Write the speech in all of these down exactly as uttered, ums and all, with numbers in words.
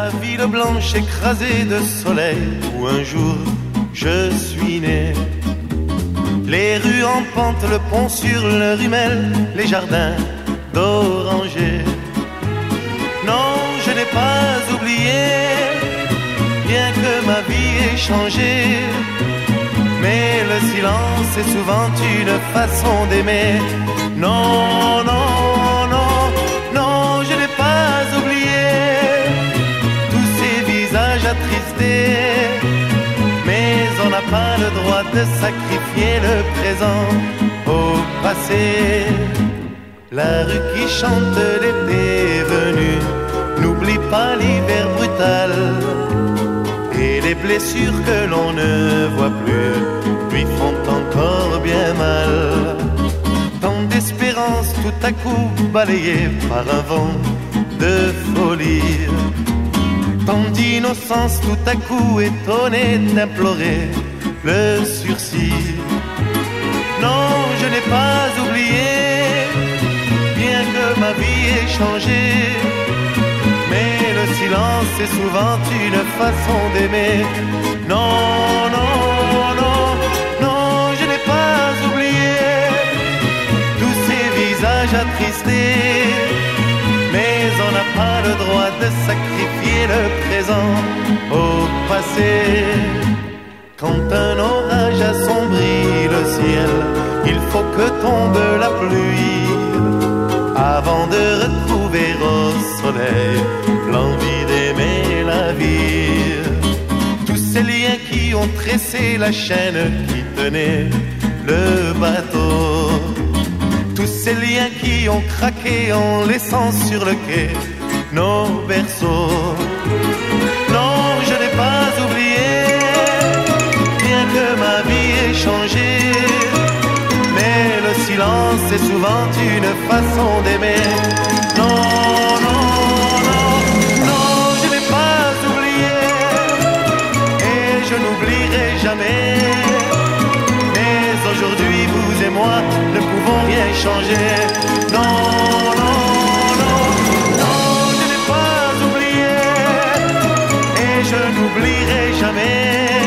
la ville blanche écrasée de soleil où un jour je suis né. Les rues en pente, le pont sur le Rumel, les jardins d'orangers. Non, je n'ai pas oublié, bien que ma vie ait changé. Mais le silence est souvent une façon d'aimer. Non, non, non, non, je n'ai pas oublié tous ces visages attristés. Mais on n'a pas le droit de sacrifier le présent au passé. La rue qui chante l'été venu n'oublie pas l'hiver brutal. Et les blessures que l'on ne voit plus lui font encore bien mal. Tant d'espérance tout à coup balayée par un vent de folie. Tant d'innocence tout à coup étonnée d'implorer le sursis. Non, je n'ai pas oublié, bien que ma vie ait changé. Mais le silence est souvent une façon d'aimer. Non, non, non, non, je n'ai pas oublié tous ces visages attristés. Mais on n'a pas le droit de sacrifier le présent au passé. Quand un orage assombrit le ciel, il faut que tombe la pluie avant de retrouver au soleil l'envie d'aimer la vie. Tous ces liens qui ont tressé la chaîne qui tenait le bateau, tous ces liens qui ont craqué en laissant sur le quai nos berceaux. Non, je n'ai pas oublié, bien que ma vie ait changé. Mais le silence est souvent une façon d'aimer. Non, non, non, non, je n'ai pas oublié et je n'oublierai jamais. Mais aujourd'hui, vous et moi ne pouvons rien changer. Non, non, non, non, je n'ai pas oublié et je n'oublierai jamais.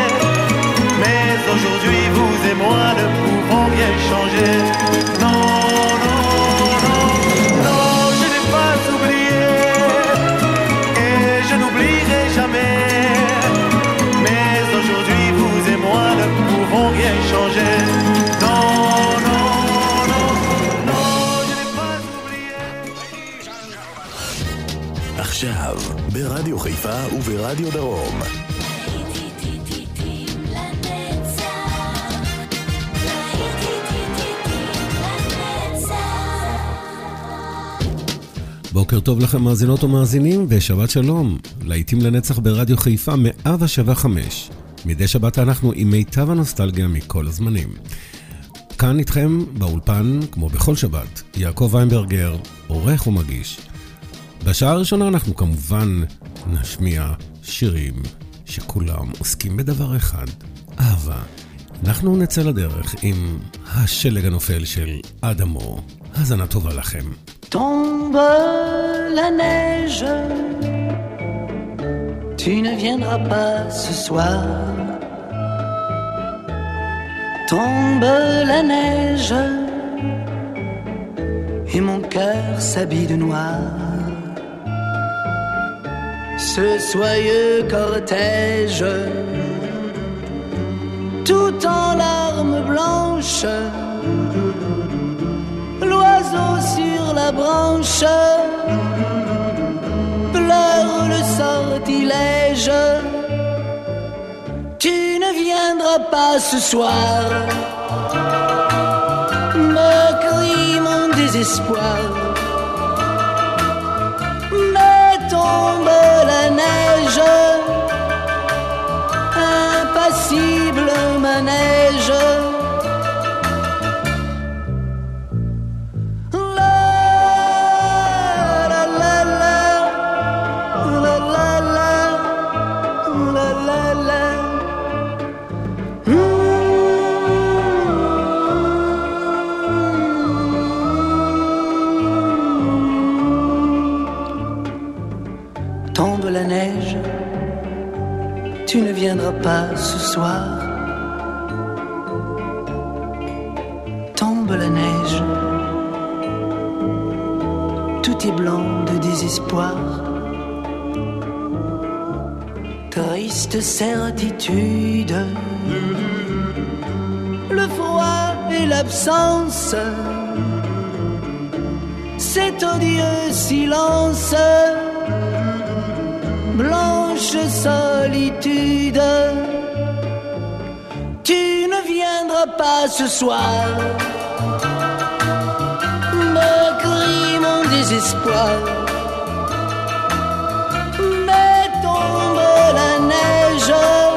Mais aujourd'hui, vous et moi ne pouvons rien changer. Non, non, non, non, je n'ai pas oublié et je n'oublierai jamais. Mais aujourd'hui, vous et moi ne pouvons rien changer. Non, non, non, non, je n'ai pas oublié. עכשיו, ברדיו חיפה וברדיו דרום. בוקר טוב לכם מאזינות ומאזינים ושבת שלום. להיטים לנצח ברדיו חיפה מאה ושבע חמש. מדי שבת אנחנו עם מיטב הנוסטלגיה מכל הזמנים. כאן איתכם באולפן, כמו בכל שבת, יעקב ויינברגר, עורך ומגיש. בשעה הראשונה אנחנו כמובן נשמיע שירים שכולם עוסקים בדבר אחד, אהבה. אנחנו נצא לדרך עם השלג הנופל של אדמו. האזנה טובה לכם. Tombe la neige, tu ne viendras pas ce soir. Tombe la neige, et mon cœur s'habille de noir. Ce soyeux cortège, tout en larmes blanches, l'oiseau sur la branche pleure le sortilège. Tu ne viendras pas ce soir, me crie mon désespoir. Mais tombe la neige, impassible manège. Tombe la neige, tu ne viendras pas ce soir. Tombe la neige, tout est blanc de désespoir. Triste certitude, le froid et l'absence, cet odieux silence, blanche solitude. Tu ne viendras pas ce soir, me crie mon désespoir. Mais tombe la neige,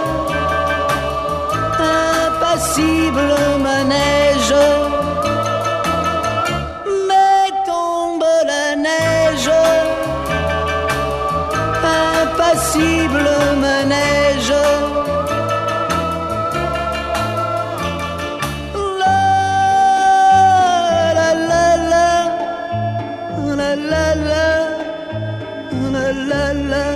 impassible manège. Mais tombe la neige, impassible manège. La la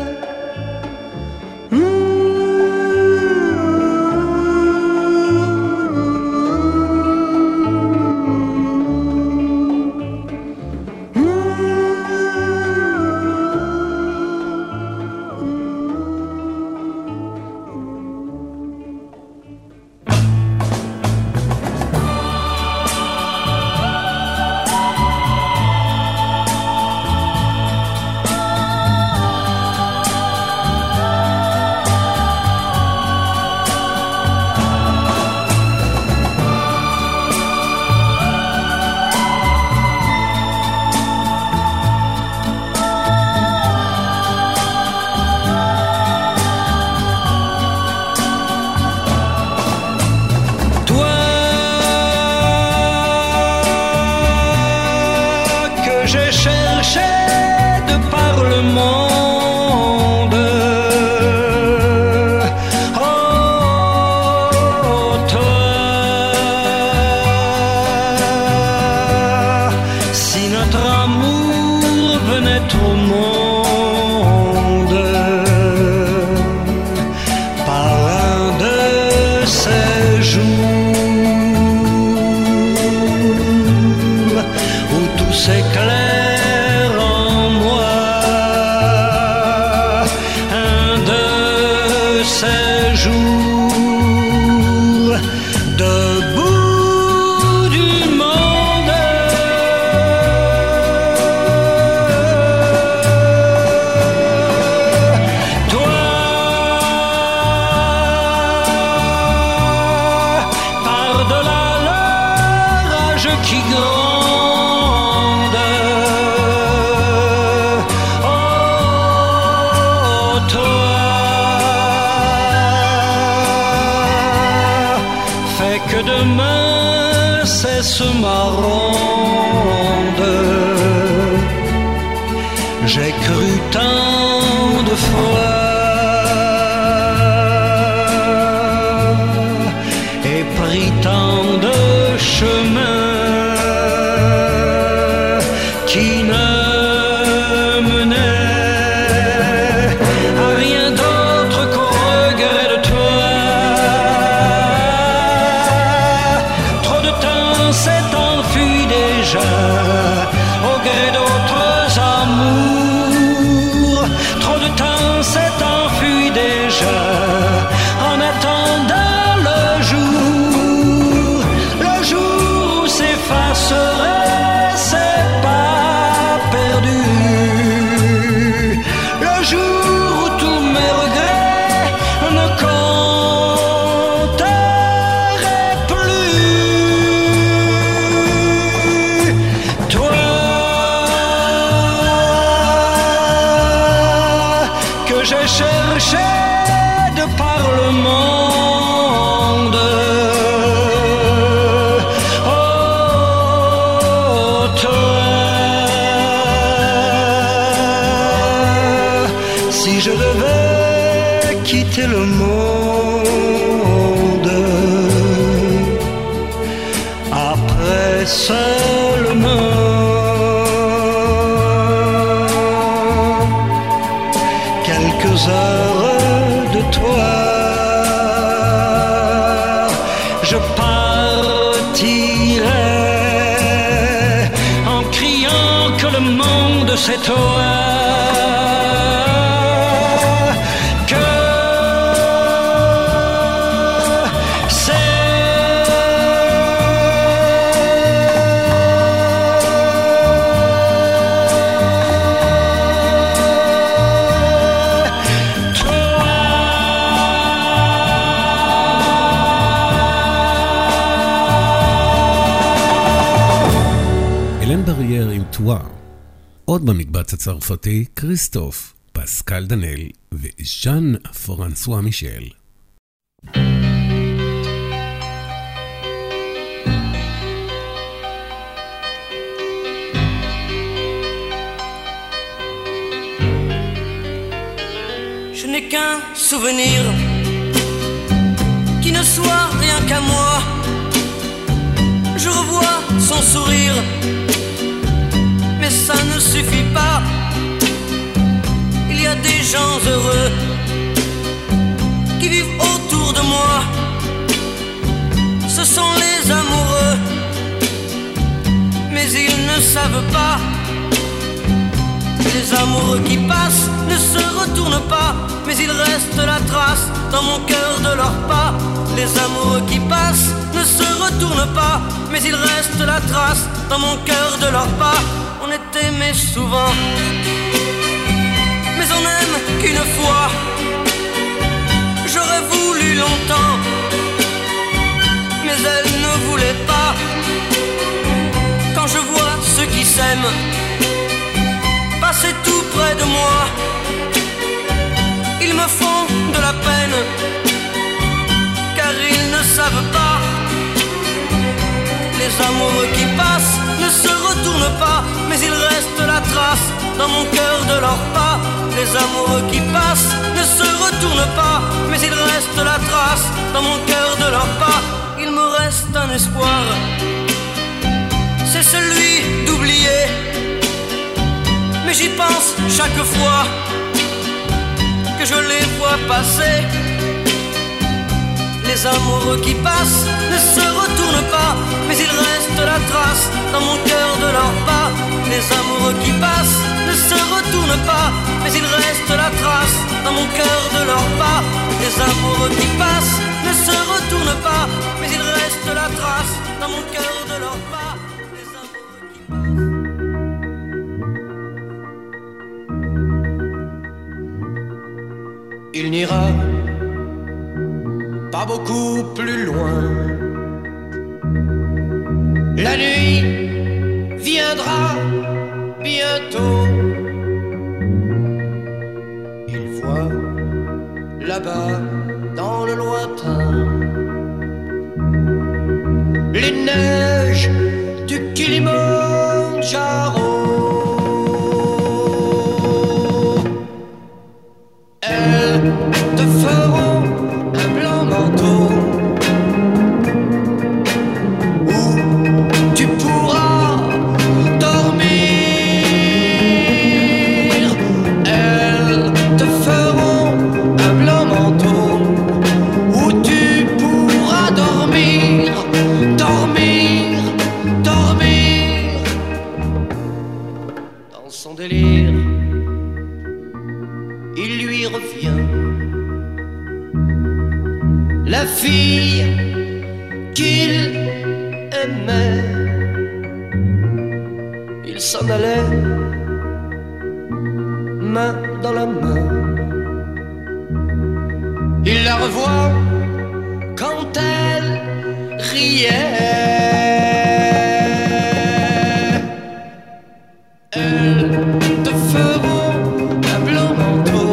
J'ai cru tant de fois et pris tant de chemins qui ne menaient à rien d'autre qu'au regret de toi. Trop de temps s'est enfui déjà au gré d'autres amours. Trop de temps s'est enfui déjà en attendant le jour, le jour où s'effacerait ces pas perdus, le jour où tous mes regrets ne compteraient plus. Toi que j'ai cherché de par le monde, oh toi, si je devais quitter le monde après seulement quelques heures de toi, c'est toi que טועה. עוד במקבץ הצרפתי, כריסטוף, פסקל דנל וז'אן פרנסואה מישל. Je n'ai qu'un souvenir qui ne soit rien qu'à moi. Je revois son sourire, mais ça ne suffit pas. Il y a des gens heureux qui vivent autour de moi. Ce sont les amoureux, mais ils ne savent pas. Les amoureux qui passent ne se retournent pas, mais il reste la trace dans mon cœur de leurs pas. Les amoureux qui passent ne se retournent pas, mais il reste la trace dans mon cœur de leurs pas. On est aimé souvent, mais on n'aime qu'une fois. J'aurais voulu longtemps, mais elle ne voulait pas. Quand je vois ceux qui s'aiment passer tout près de moi, ils me font de la peine, car ils ne savent pas. Les amoureux qui passent ne se retournent pas, mais il reste la trace dans mon cœur de leurs pas. Les amoureux qui passent ne se retournent pas, mais il reste la trace dans mon cœur de leurs pas. Il me reste un espoir, c'est celui d'oublier, mais j'y pense chaque fois que je les vois passer. Les amoureux qui passent ne se retournent pas, mais il reste la trace dans mon cœur de leurs pas. Les amoureux qui passent ne se retournent pas, mais il reste la trace dans mon cœur de leurs pas. Les amoureux qui passent ne se retournent pas, mais il reste la trace dans mon cœur de leurs pas. Les amoureux qui passent. Il n'ira pas beaucoup plus loin. La nuit viendra bientôt. Il voit là-bas dans le lointain les neiges du Kilimandjaro. Elles te feront un blanc manteau où tu pourras dormir. Elles te feront un blanc manteau où tu pourras dormir, dormir, dormir. Dans son délire, il lui revient la fille qu'il aimait. Il s'en allait, main dans la main. Il la revoit quand elle riait. Elles te feront un blanc manteau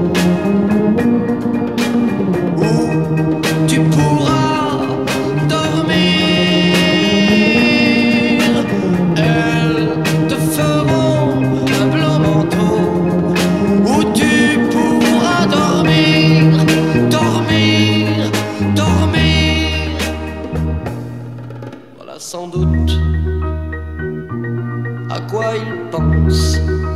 où tu pourras dormir. Elles te feront un blanc manteau où tu pourras dormir, dormir, dormir. Voilà sans doute à quoi il pense.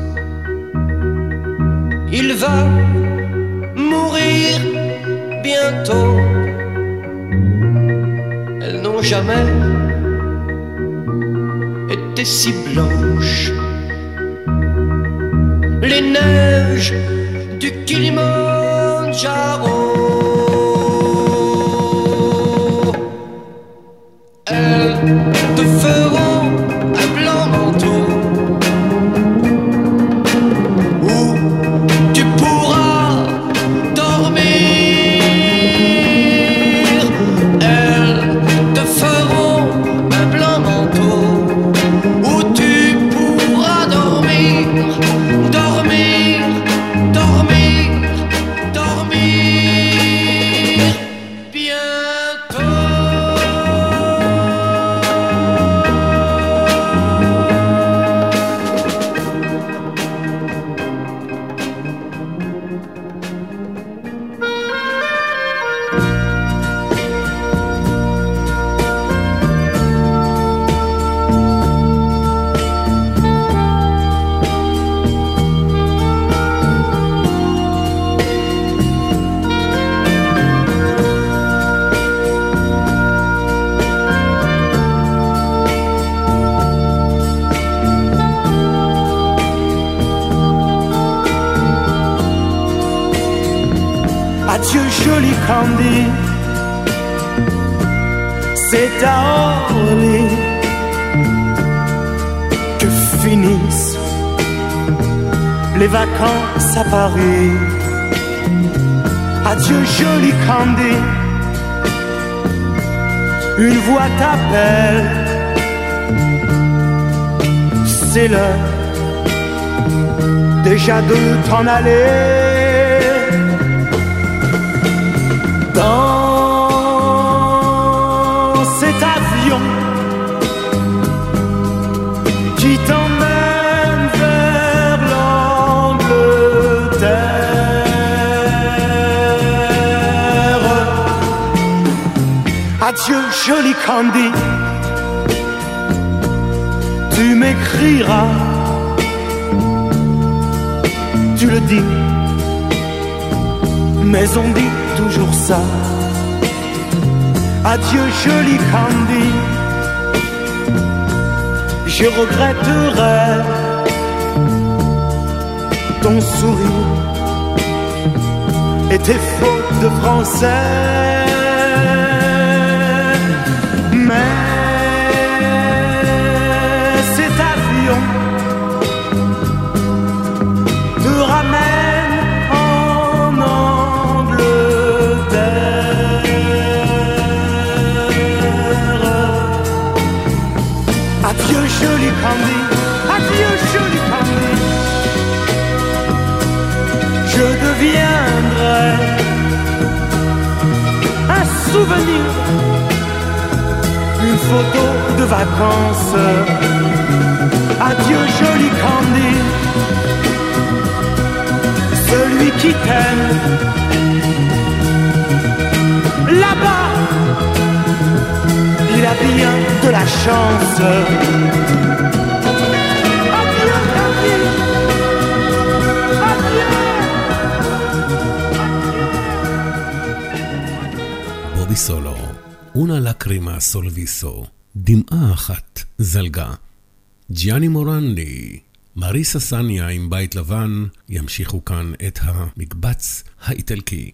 Il va mourir bientôt. Elles n'ont jamais été si blanches. refuge du Kilimandjaro. Elles te feront un blanc manteau où tu pourras dormir. Elles te feront un blanc manteau où tu pourras dormir, dormir, dormir, dormir bientôt. Adieu joli Candy, c'est à Orly que finissent les vacances à Paris. Adieu joli Candy, une voix t'appelle, c'est l'heure déjà de t'en aller. Dans cet avion qui t'emmène vers l'Angleterre. Adieu joli Candy, tu m'écriras, tu le dis, mais on dit toujours ça. Adieu joli Candy, je regretterai ton sourire et tes fautes de français. Mais cet avion te ramène en Angleterre. Adieu joli Candy, adieu joli Candy, je deviendrai un souvenir, une photo de vacances. Adieu joli Candy, celui qui t'aime là-bas, il a bien de la chance. Adieu Candy, adieu. בובי סולו, una lacrima sul viso, דמעה אחת זלגה. ג'יאני מורנדי, מריסה סניה עם בית לבן, ימשיכו כאן את המקבץ האיטלקי.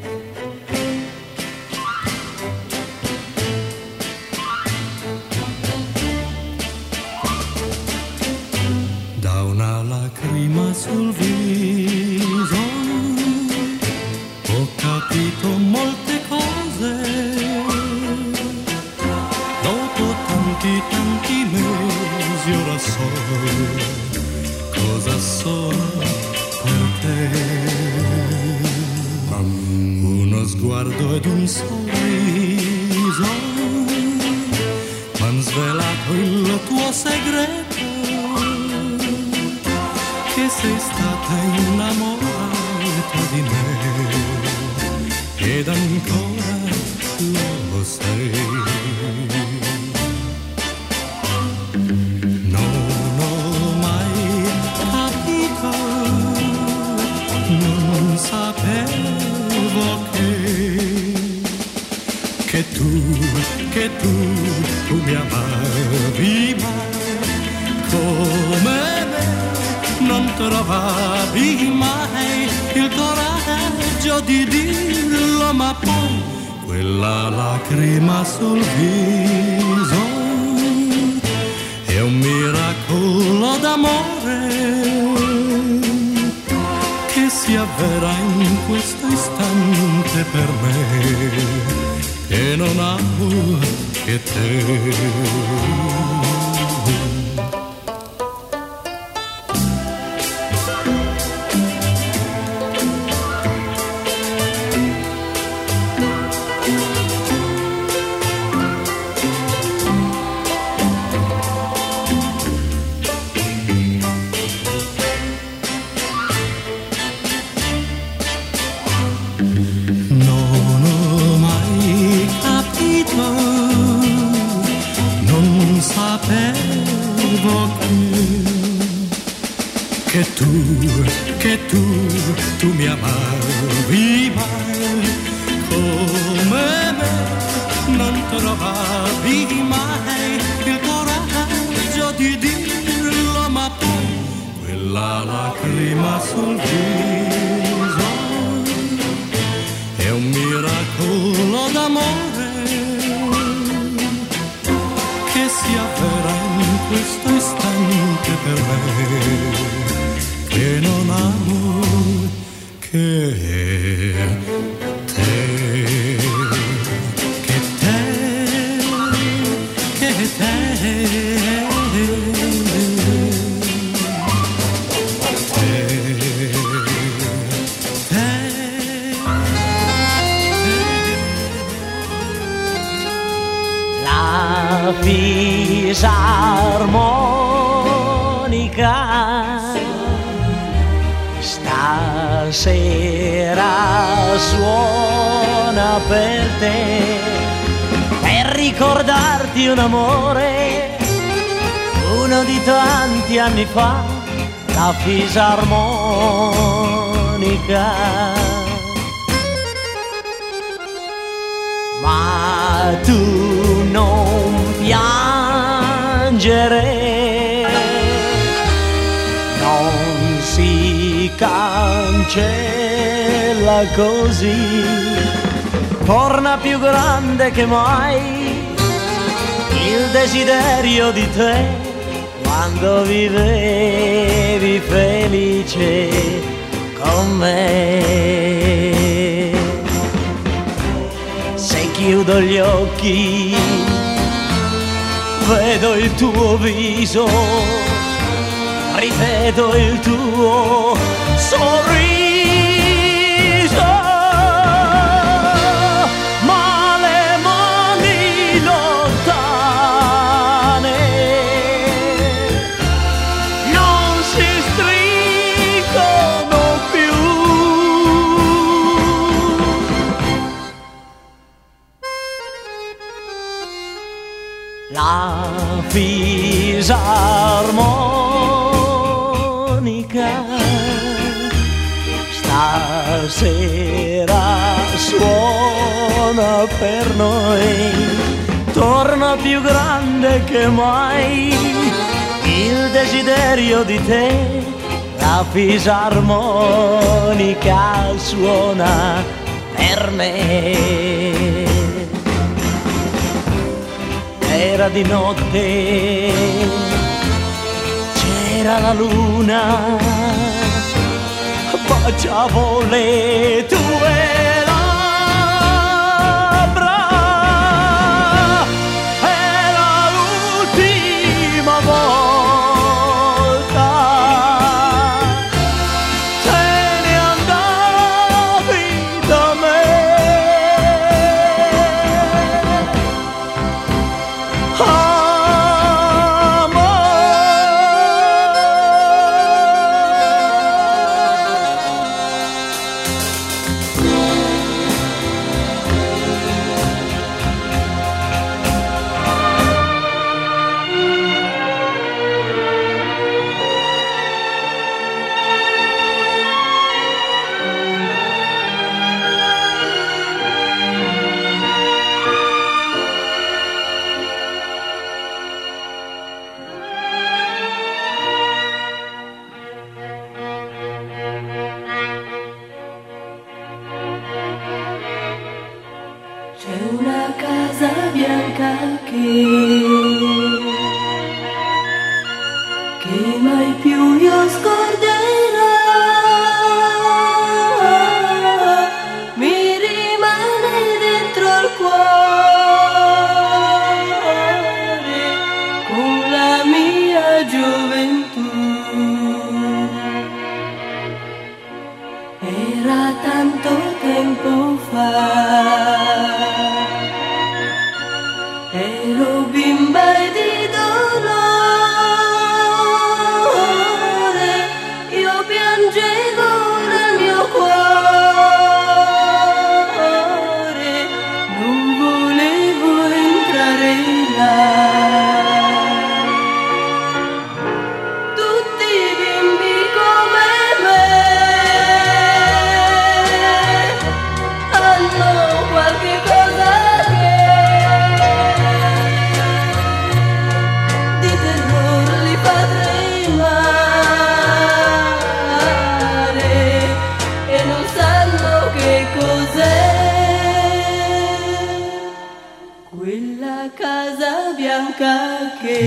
Da una lacrima sul viso ho capito molte cose. Dopo tanti tanti mesi ora so cosa sono per te. Uno sguardo ed un sorriso m'han svelato il tuo segreto, che sei stata innamorata di me ed ancora lo sei. Non ho mai capito, non sapevo che che tu, che tu, tu mi amavi, ma come me non trovavi mai il coraggio di dirlo, ma poi quella lacrima sul viso è un miracolo d'amore che si avvera in questo istante per me, che non amo che te. Che tu, che tu, tu mi amavi mai come me, non trovavi mai il coraggio di dirlo, ma poi quella lacrima sul viso è un miracolo d'amore che si avvera in questo istante per me, che non amo che te, che te, che te, te, te. La fisarmonica stasera suona per te, per ricordarti un amore, uno di tanti anni fa, la fisarmonica. Ma tu non piangere, non si cancella così, torna più grande che mai il desiderio di te, quando vivevi felice con me. Se chiudo gli occhi vedo il tuo viso, rivedo il tuo sorriso, ma le mani lontane non si stringono più. La fisarmonica stasera suona per noi, torna più grande che mai il desiderio di te, la fisarmonica suona per me. Era di notte, c'era la luna, baciavo le tue labbra, era l'ultima volta, te ne andavi da me. C'è una casa bianca che, che mai più io scorderò, mi rimane dentro il cuore con la mia gioventù. Era tanto tempo fa, ero bimba e di dolore, io piangevo nel mio cuore, non volevo entrare là. Tutti i bimbi come me hanno qualche cosa che di terrore li fa tremare e non sanno che cos'è quella casa bianca che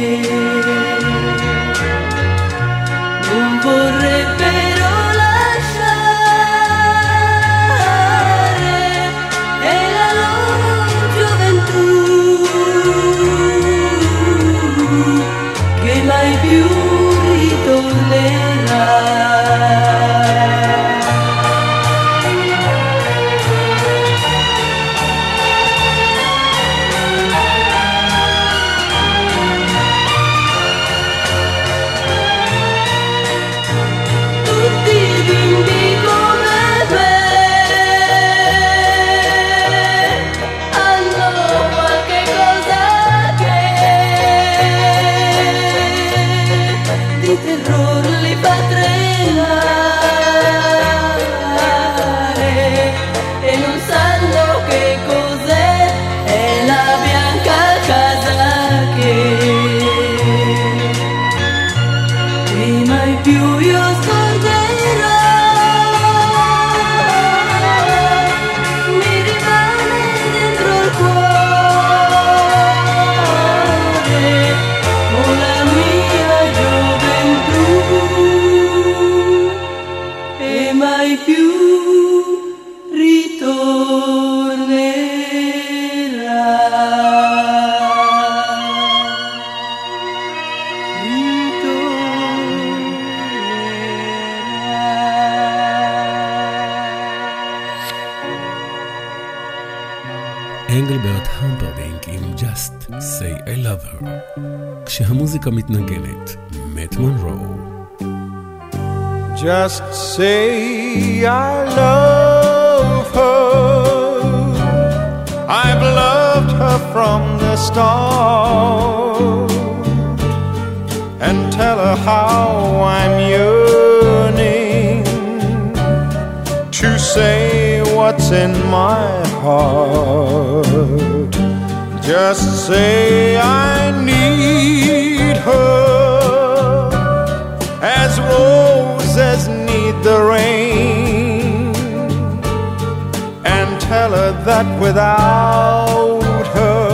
non vorrebbero lasciare, è la loro gioventù che mai più ritornerà. Tutti i bimbi come me hanno qualche cosa che di terrore li fa tremare e non sanno che cos'è, è la bianca casa che che mai più io scorderò, mi rimane dentro il cuore con la mia gioventù e mai più אנגלברט המפרדינק עם Just Say I Love Her. כשהמוזיקה מתנגנת, מאט מונרו. Just say I love her. I've loved her from the start. And tell her how I'm yearning to say what's in my heart. Just say I need her as roses need the rain, and tell her that without her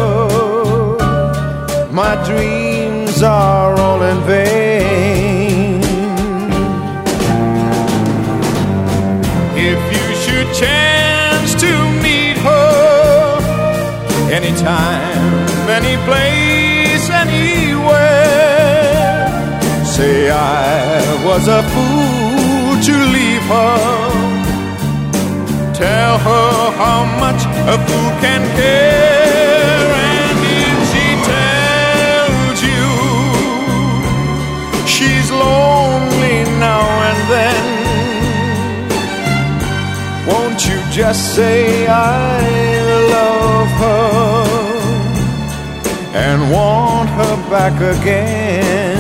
my dreams are all in vain. If you should chance to meet her anytime, any place, anywhere, say I was a fool to leave her. Tell her how much a fool can care. And if she tells you she's lonely now and then, won't you just say I love her and want her back again?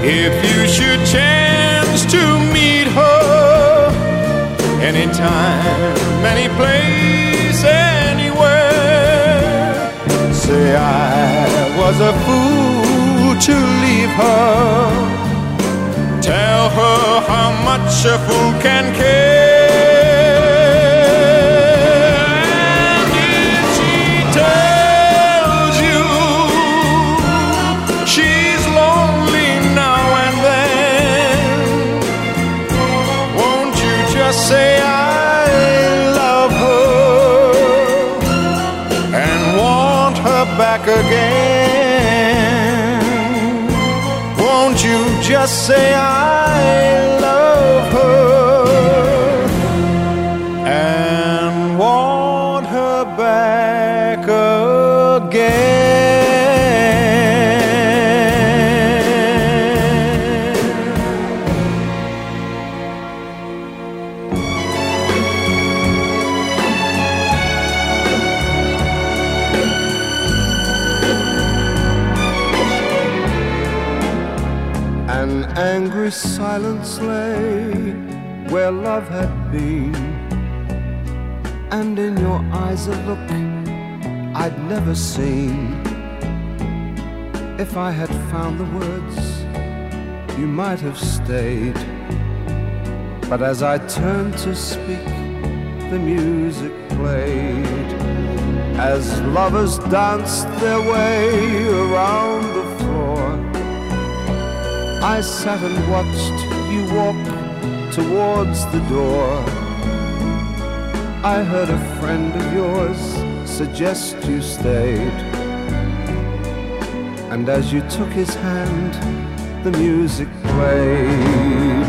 If you should chance to meet her anytime, any place, anywhere, say I was a fool to leave her. Tell her how much a fool can care. And if she tells you she's lonely now and then, won't you just say I love her and want her back again? Won't you just say I love her and want her back again? An angry silence lay where love had been, and in your eyes a look I'd never seen. If I had found the words, you might have stayed. But as I turned to speak, the music played. As lovers danced their way around the floor, I sat and watched you walk towards the door. I heard a friend of yours suggest you stayed, and as you took his hand, the music played.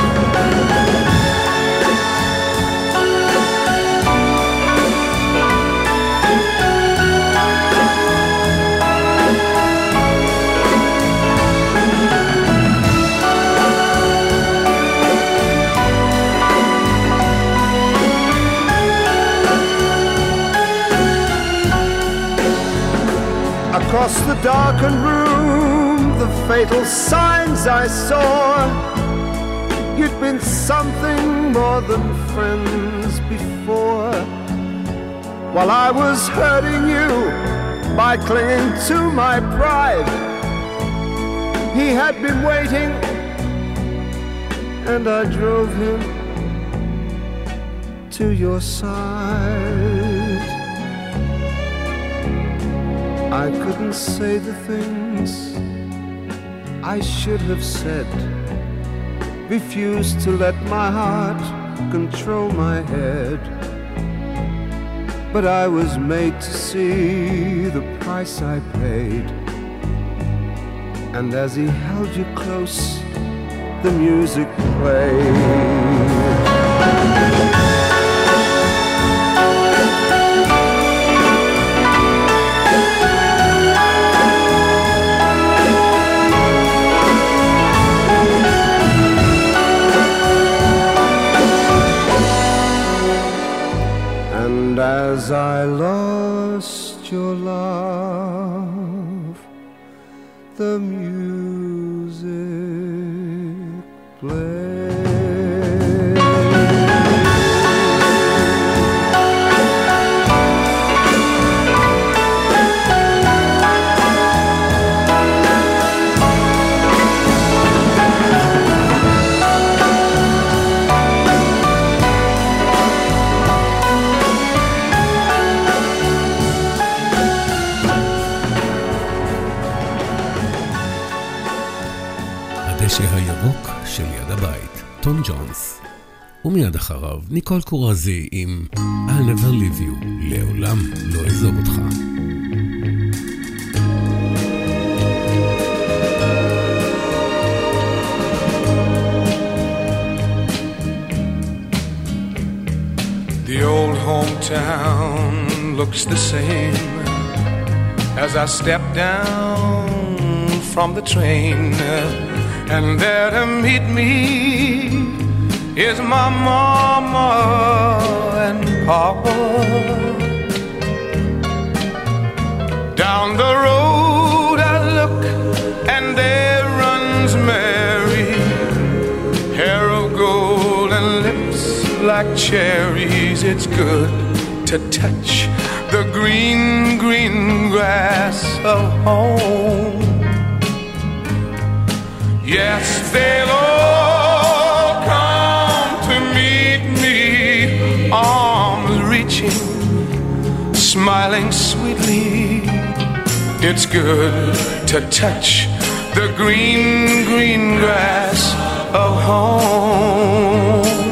Across the darkened room, the fatal signs I saw. You'd been something more than friends before. While I was hurting you by clinging to my pride, he had been waiting, and I drove him to your side. I couldn't say the things I should have said, refused to let my heart control my head. But I was made to see the price I paid, and as he held you close, the music played. As I lost your love, the music played. הירוק של יד הבית, טום ג'ונס. ומיד אחריו ניקול קורזי עם I'll never leave you, לעולם לא אעזוב אותך. The old hometown looks the same as I step down from the train, and there to meet me is my mama and papa. Down the road I look, and there runs Mary, like cherries. It's good to touch the green, green grass of home. Yes, they'll all come to meet me, arms reaching, smiling sweetly. It's good to touch the green, green grass of home.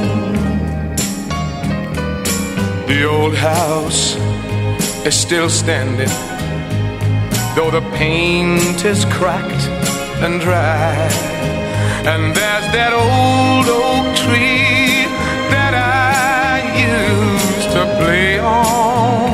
The old house is still standing, though the paint is cracked and dry. And there's that old oak tree that I used to play on.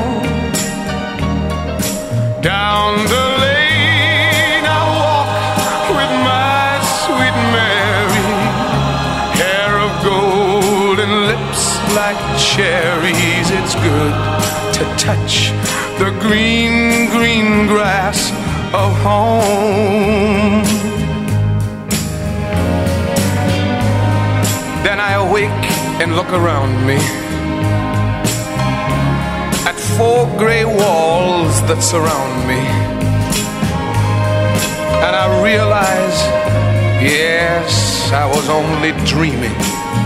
Down the lane I walk with my sweet Mary, hair of gold and lips like cherries. It's good to touch the green, green grass of home. Then I awake and look around me at four gray walls that surround me, and I realize, yes, I was only dreaming.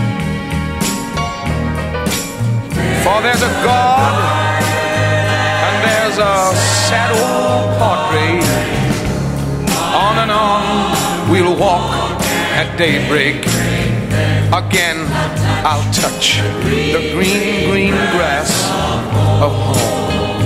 For there's a God and there's a sad old portrait. On and on we'll walk at daybreak. Again I'll touch the green, green grass of home.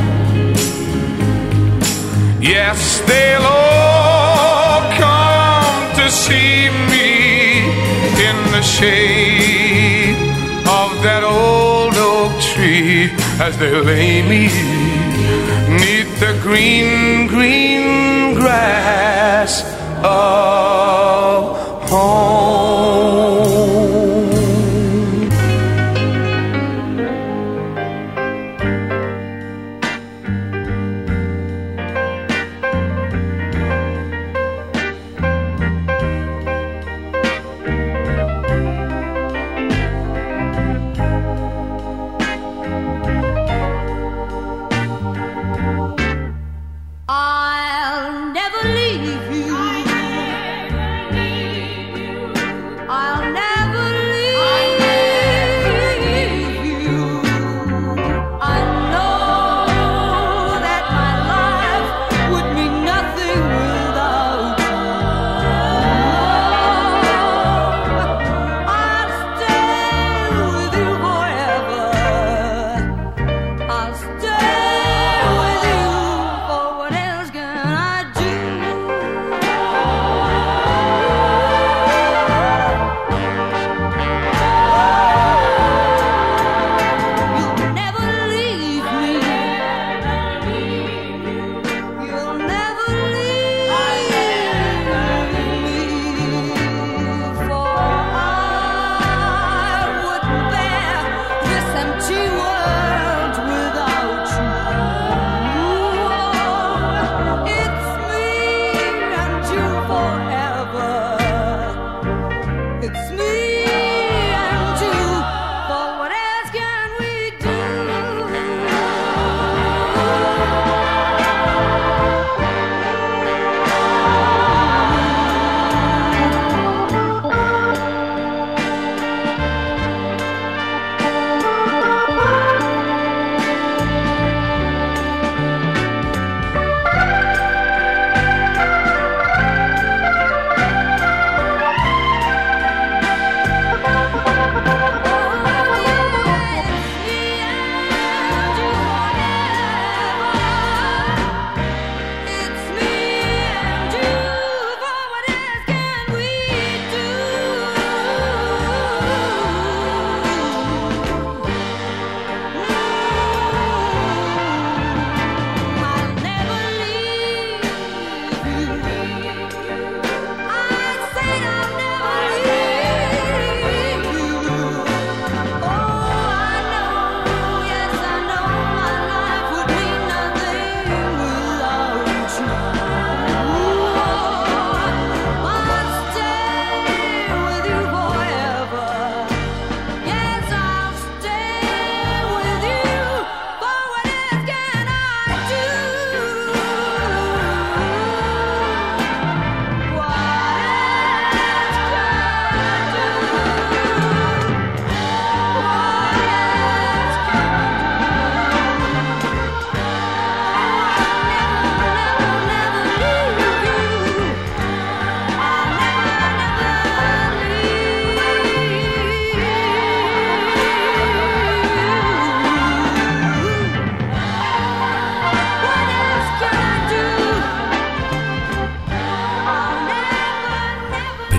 Yes, they'll all come to see me in the shade of that old oak tree as they lay me neath the green, green grass of home. I'll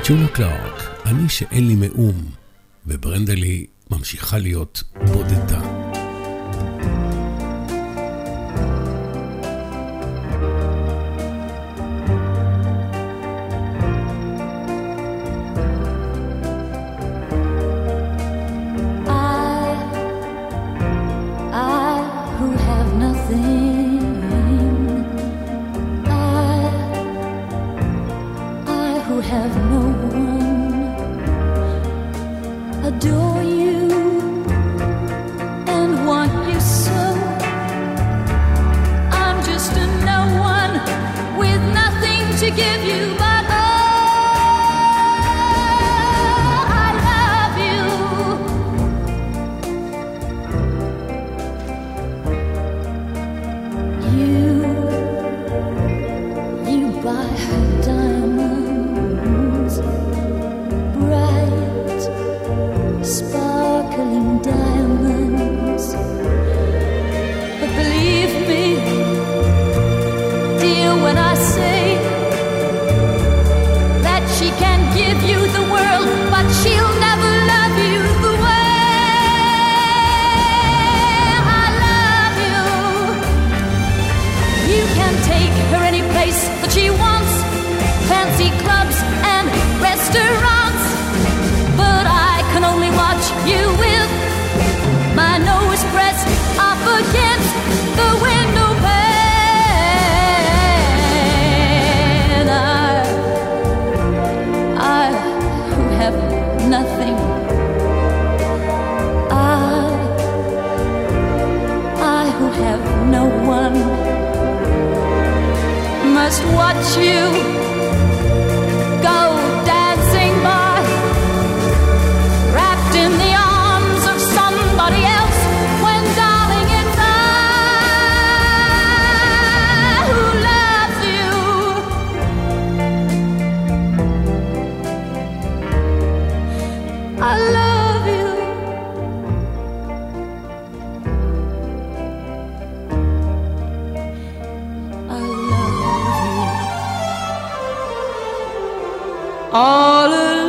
ג'ולה קלארק, אני שאין לי מאום, וברנדלי ממשיכה להיות בודדה. All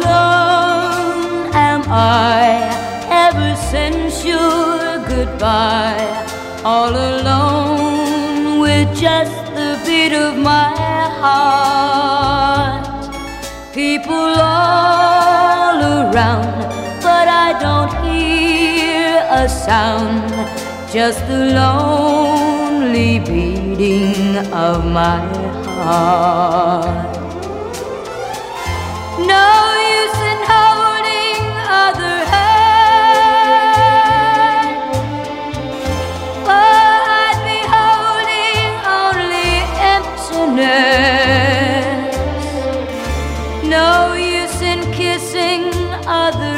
alone am I, ever since your goodbye. All alone with just the beat of my heart. People all around, but I don't hear a sound. Just the lonely beating of my heart. No use in holding other hand, for I'd be holding only emptiness. No use in kissing other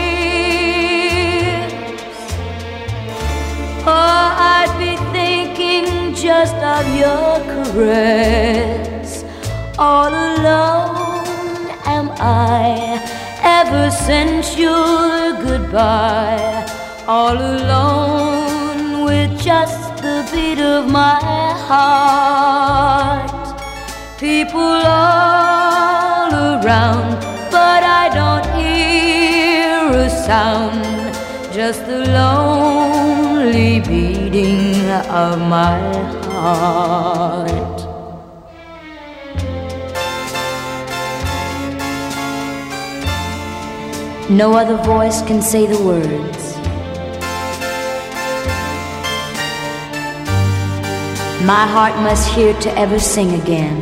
lips, for I'd be thinking just of your caress. All alone am I, ever since your goodbye. All alone with just the beat of my heart. People all around, but I don't hear a sound. Just the lonely beating of my heart. No other voice can say the words. My heart must hear to ever sing again.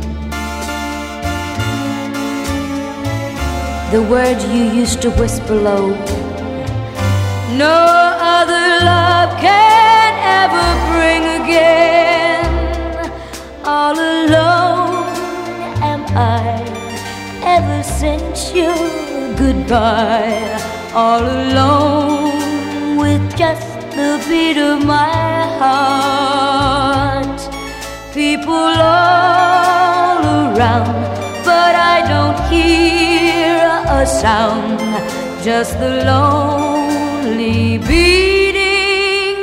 The words you used to whisper low. No other love can ever bring again. All alone am I, ever since you goodbye. All alone with just the beat of my heart. People all around, but I don't hear a sound. Just the lonely beating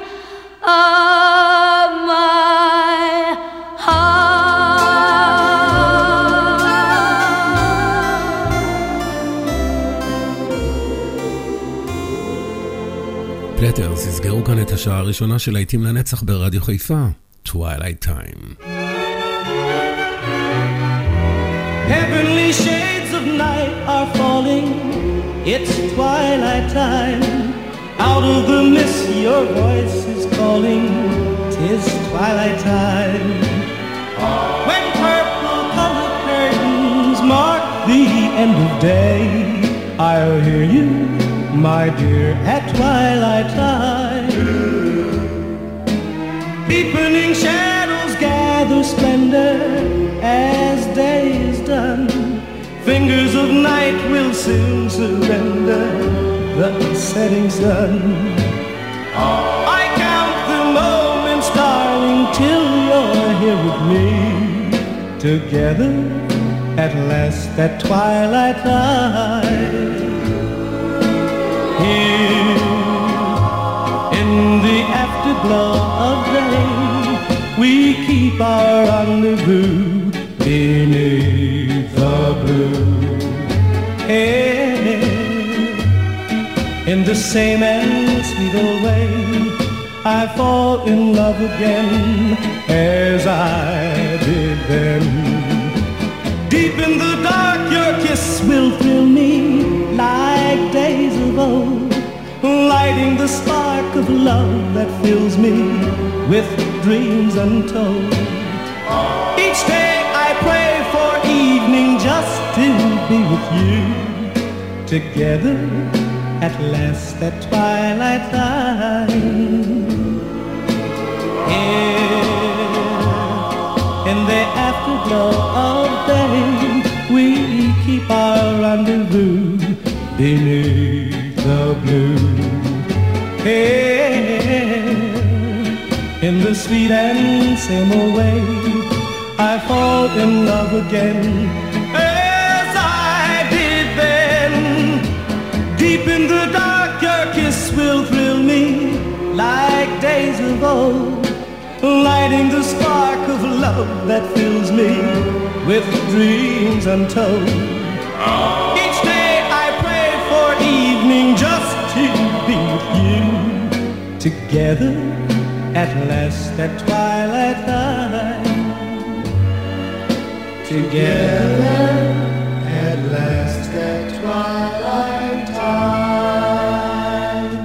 of my heart. גטרס הסגרו כאן את השעה הראשונה של להיטים לנצח ברדיו חיפה, Twilight Time. Heavenly shades of night are falling, it's twilight time. Out of the mist your voice is calling, 'tis twilight time. When purple colored curtains mark the end of day, I'll hear you, my dear, at twilight time. Deepening shadows gather splendor as day is done. Fingers of night will soon surrender the setting sun. I count the moments, darling, till you're here with me. Together at last at twilight time. Here in the afterglow of day, we keep our rendezvous beneath the blue. Hey, in the same and sweet old way, I fall in love again as I did then. Deep in the dark your kiss will thrill me like days of old, lighting the spark of love that fills me with dreams untold. Each day I pray for evening just to be with you. Together at last at twilight time. Here in the afterglow of day, we keep our rendezvous beneath the blue. Hey, in the sweet and same old way, I fall in love again as I did then. Deep in the dark your kiss will thrill me like days of old, lighting the spark of love that fills me with dreams untold. Each day I pray for evening just to be with you. Together at last at twilight time. Together at last at twilight time.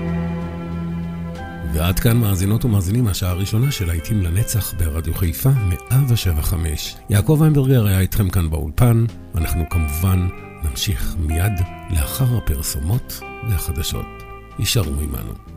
ועד כאן מאזינות ומאזינים השעה הראשונה של להיטים לנצח ברדיו חיפה מאה שבע חמש. יעקב איינברגר היה איתכם כאן באולפן, ואנחנו כמובן נמשיך מיד לאחר הפרסומות והחדשות. יישארו עמנו.